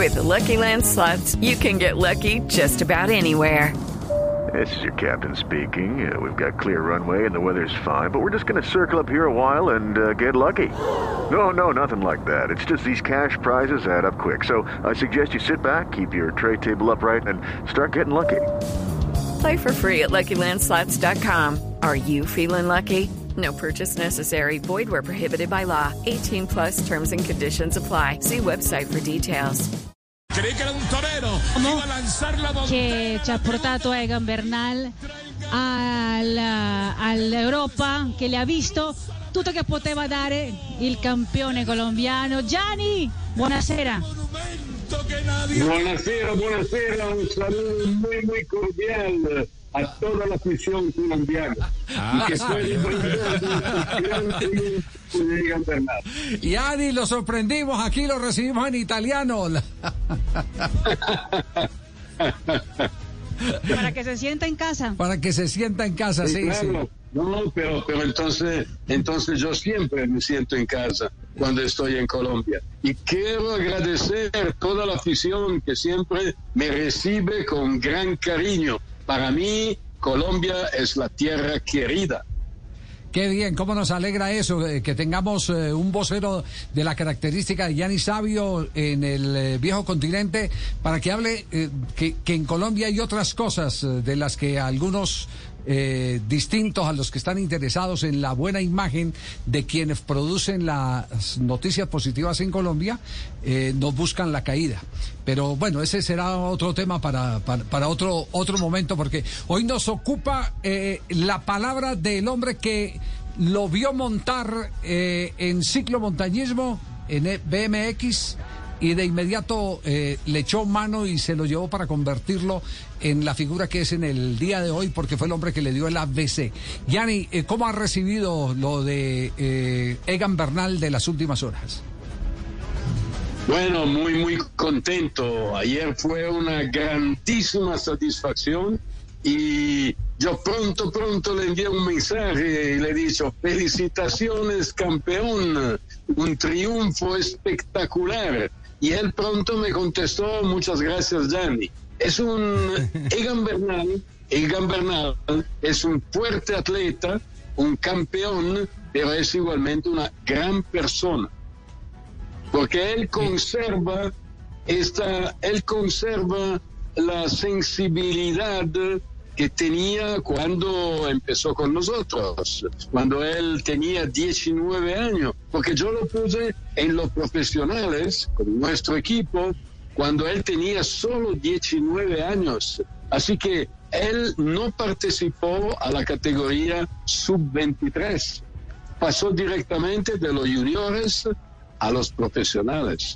With the Lucky Land Slots, you can get lucky just about anywhere. This is your captain speaking. We've got clear runway and the weather's fine, but we're just going to circle up here a while and get lucky. No, nothing like that. It's just these cash prizes add up quick. So I suggest you sit back, keep your tray table upright, and start getting lucky. Play for free at LuckyLandSlots.com. Are you feeling lucky? No purchase necessary. Void where prohibited by law. 18 plus terms and conditions apply. See website for details. Creí que era un torero. Iba a lanzar la che ci ha portato Egan Bernal all'Europa, che le ha visto tutto che poteva dare il campione colombiano. Gianni, buonasera. Buonasera, un saludo muy cordial a toda la afición colombiana. Que fue Gianni, lo sorprendimos, aquí lo recibimos en italiano. Para que se sienta en casa. Para que se sienta en casa, sí, claro. Sí. No, pero entonces yo siempre me siento en casa cuando estoy en Colombia. Y quiero agradecer a toda la afición que siempre me recibe con gran cariño. Para mí, Colombia es la tierra querida. Qué bien, cómo nos alegra eso, que tengamos un vocero de la característica de Gianni Savio en el viejo continente, para que hable que en Colombia hay otras cosas de las que algunos distintos a los que están interesados en la buena imagen de quienes producen las noticias positivas en Colombia, nos buscan la caída. Pero bueno, ese será otro tema para otro momento, porque hoy nos ocupa la palabra del hombre que lo vio montar en ciclomontañismo, en BMX, y de inmediato le echó mano y se lo llevó para convertirlo en la figura que es en el día de hoy, porque fue el hombre que le dio el ABC. Gianni, ¿cómo ha recibido lo de Egan Bernal de las últimas horas? Bueno, muy contento. Ayer fue una grandísima satisfacción y yo pronto le envié un mensaje y le he dicho: felicitaciones, campeón, un triunfo espectacular. Y él pronto me contestó: muchas gracias, Gianni. Es Egan Bernal es un fuerte atleta, un campeón, pero es igualmente una gran persona. Porque él conserva la sensibilidad que tenía cuando empezó con nosotros, cuando él tenía 19 años, porque yo lo puse en los profesionales, con nuestro equipo, cuando él tenía solo 19 años. Así que él no participó a la categoría sub-23, pasó directamente de los juniores a los profesionales.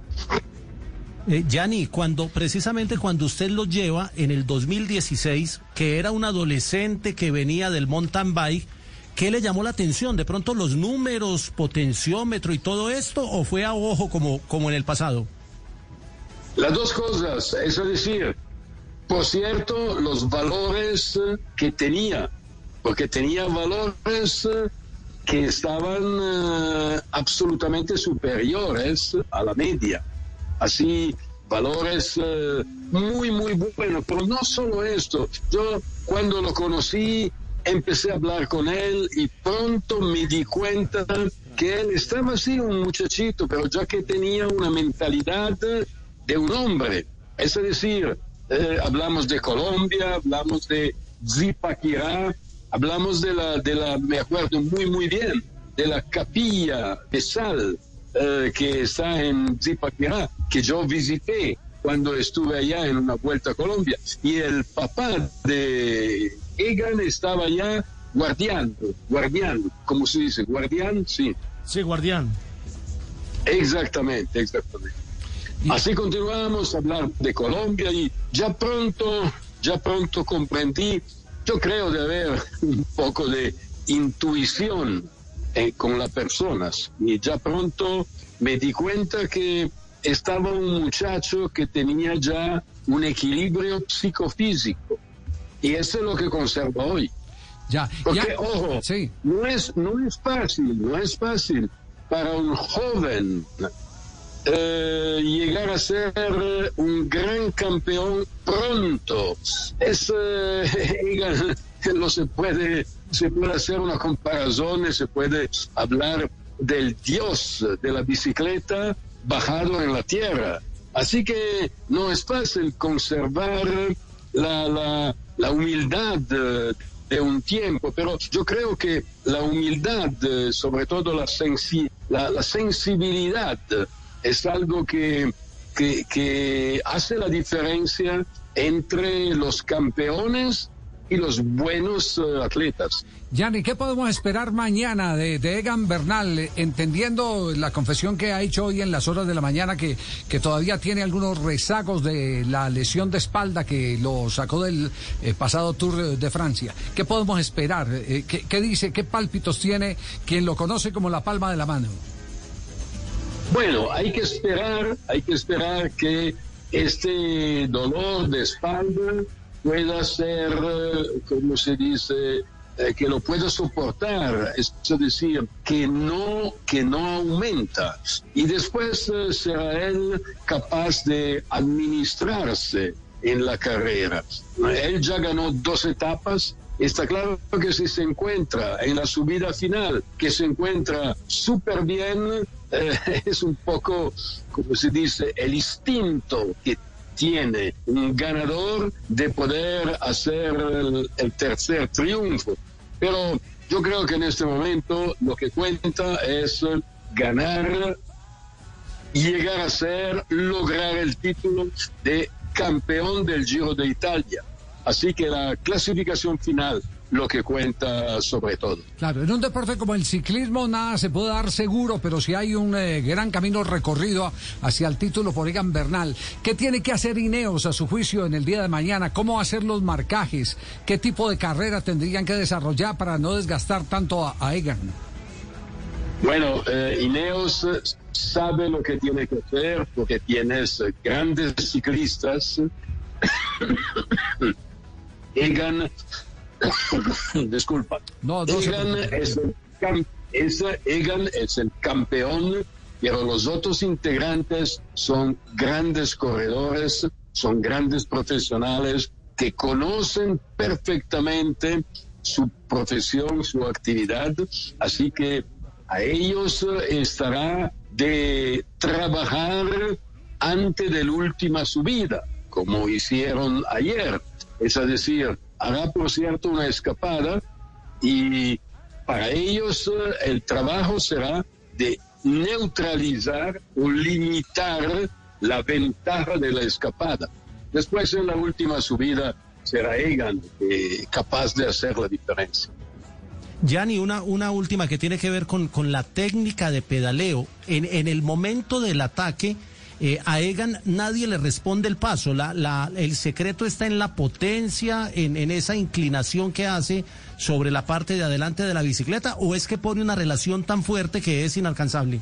Gianni, precisamente cuando usted lo lleva en el 2016, que era un adolescente que venía del mountain bike, ¿qué le llamó la atención? ¿De pronto los números, potenciómetro y todo esto, o fue a ojo como en el pasado? Las dos cosas, es decir, por cierto, los valores que tenía, porque tenía valores que estaban absolutamente superiores a la media. Así, valores muy buenos. Pero no solo esto. Yo, cuando lo conocí, empecé a hablar con él y pronto me di cuenta que él estaba así, un muchachito, pero ya que tenía una mentalidad de un hombre. Es decir, hablamos de Colombia, hablamos de Zipaquirá, hablamos de la, me acuerdo muy bien, de la capilla de sal que está en Zipaquirá, que yo visité cuando estuve allá en una vuelta a Colombia. Y el papá de Egan estaba allá guardián, ¿cómo se dice? ¿Guardián? Sí. Sí, guardián. Exactamente. Así continuamos a hablar de Colombia y ya pronto comprendí, yo creo de haber un poco de intuición con las personas, y ya pronto me di cuenta que estaba un muchacho que tenía ya un equilibrio psicofísico, y eso es lo que conserva hoy. Porque, ojo, sí, no es fácil para un joven llegar a ser un gran campeón pronto. Egan, no se puede hacer una comparación, se puede hablar del dios de la bicicleta bajado en la tierra. Así que no es fácil conservar la humildad de un tiempo, pero yo creo que la humildad, sobre todo la sensibilidad, es algo que hace la diferencia entre los campeones y los buenos atletas. Gianni, ¿qué podemos esperar mañana de Egan Bernal, entendiendo la confesión que ha hecho hoy en las horas de la mañana que todavía tiene algunos rezagos de la lesión de espalda que lo sacó del pasado Tour de Francia? ¿Qué podemos esperar? ¿Qué dice? ¿Qué pálpitos tiene quien lo conoce como la palma de la mano? Bueno, hay que esperar que este dolor de espalda pueda ser, como se dice, que lo pueda soportar, es decir, que no aumenta. Y después será él capaz de administrarse en la carrera. Él ya ganó 2 etapas. Está claro que si se encuentra en la subida final, que se encuentra súper bien, es un poco, como se dice, el instinto que tiene un ganador de poder hacer el tercer triunfo. Pero yo creo que en este momento lo que cuenta es ganar, llegar a lograr el título de campeón del Giro de Italia. Así que la clasificación final lo que cuenta sobre todo. Claro, en un deporte como el ciclismo nada se puede dar seguro, pero si hay un gran camino recorrido hacia el título por Egan Bernal. ¿Qué tiene que hacer Ineos a su juicio en el día de mañana? ¿Cómo hacer los marcajes? ¿Qué tipo de carrera tendrían que desarrollar para no desgastar tanto a Egan? Bueno, Ineos sabe lo que tiene que hacer porque tienes grandes ciclistas. Egan, disculpa. Egan es el campeón, pero los otros integrantes son grandes corredores, son grandes profesionales que conocen perfectamente su profesión, su actividad, así que a ellos estará de trabajar antes de la última subida, como hicieron ayer. Es decir, hará por cierto una escapada y para ellos el trabajo será de neutralizar o limitar la ventaja de la escapada. Después en la última subida será Egan capaz de hacer la diferencia. Gianni, una última que tiene que ver con la técnica de pedaleo. En el momento del ataque, a Egan nadie le responde el paso. El secreto está en la potencia, en esa inclinación que hace sobre la parte de adelante de la bicicleta, ¿o es que pone una relación tan fuerte que es inalcanzable?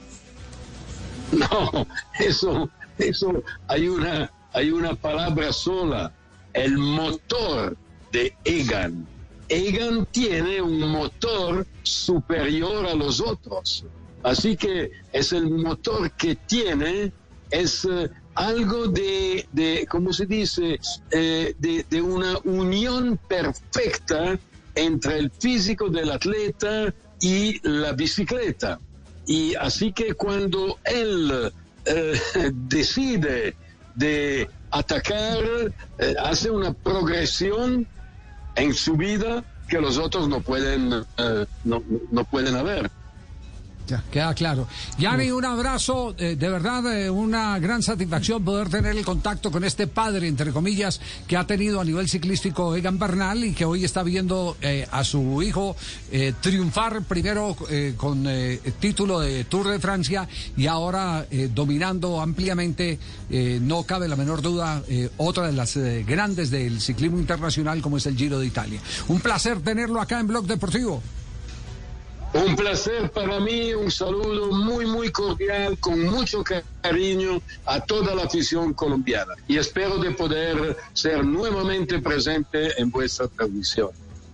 No, eso hay una palabra sola, el motor de Egan. Egan tiene un motor superior a los otros, así que es el motor que tiene, es algo de ¿cómo se dice? De una unión perfecta entre el físico del atleta y la bicicleta. Y así que cuando él decide de atacar, hace una progresión en su vida que los otros no pueden haber. Ya, queda claro. Gianni, un abrazo, de verdad, una gran satisfacción poder tener el contacto con este padre, entre comillas, que ha tenido a nivel ciclístico Egan Bernal y que hoy está viendo a su hijo triunfar primero con título de Tour de Francia y ahora dominando ampliamente, no cabe la menor duda, otra de las grandes del ciclismo internacional como es el Giro de Italia. Un placer tenerlo acá en Blog Deportivo. Un placer para mí, un saludo muy, muy cordial, con mucho cariño a toda la afición colombiana. Y espero de poder ser nuevamente presente en vuestra transmisión.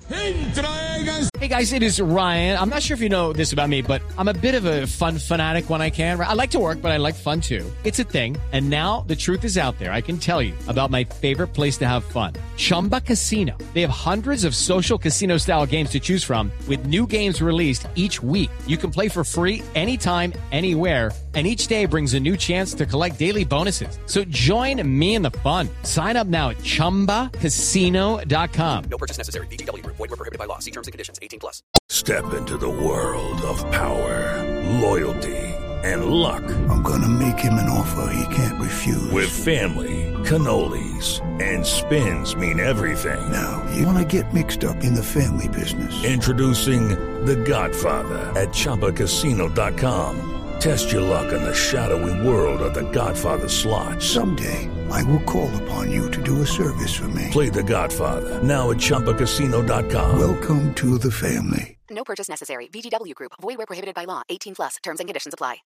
Hey guys, it is Ryan. I'm not sure if you know this about me, but I'm a bit of a fun fanatic when I can. I like to work, but I like fun too. It's a thing. And now the truth is out there. I can tell you about my favorite place to have fun. Chumba Casino. They have hundreds of social casino style games to choose from with new games released each week. You can play for free anytime, anywhere. And each day brings a new chance to collect daily bonuses. So join me in the fun. Sign up now at ChumbaCasino.com. No purchase necessary. VGW Group. Void where prohibited by law. See terms and conditions. 18+. Step into the world of power, loyalty, and luck. I'm gonna make him an offer he can't refuse. With family, cannolis, and spins mean everything. Now, you wanna get mixed up in the family business. Introducing The Godfather at ChumbaCasino.com. Test your luck in the shadowy world of The Godfather slot. Someday, I will call upon you to do a service for me. Play The Godfather, now at ChumbaCasino.com. Welcome to the family. No purchase necessary. VGW Group. Void where prohibited by law. 18+. Terms and conditions apply.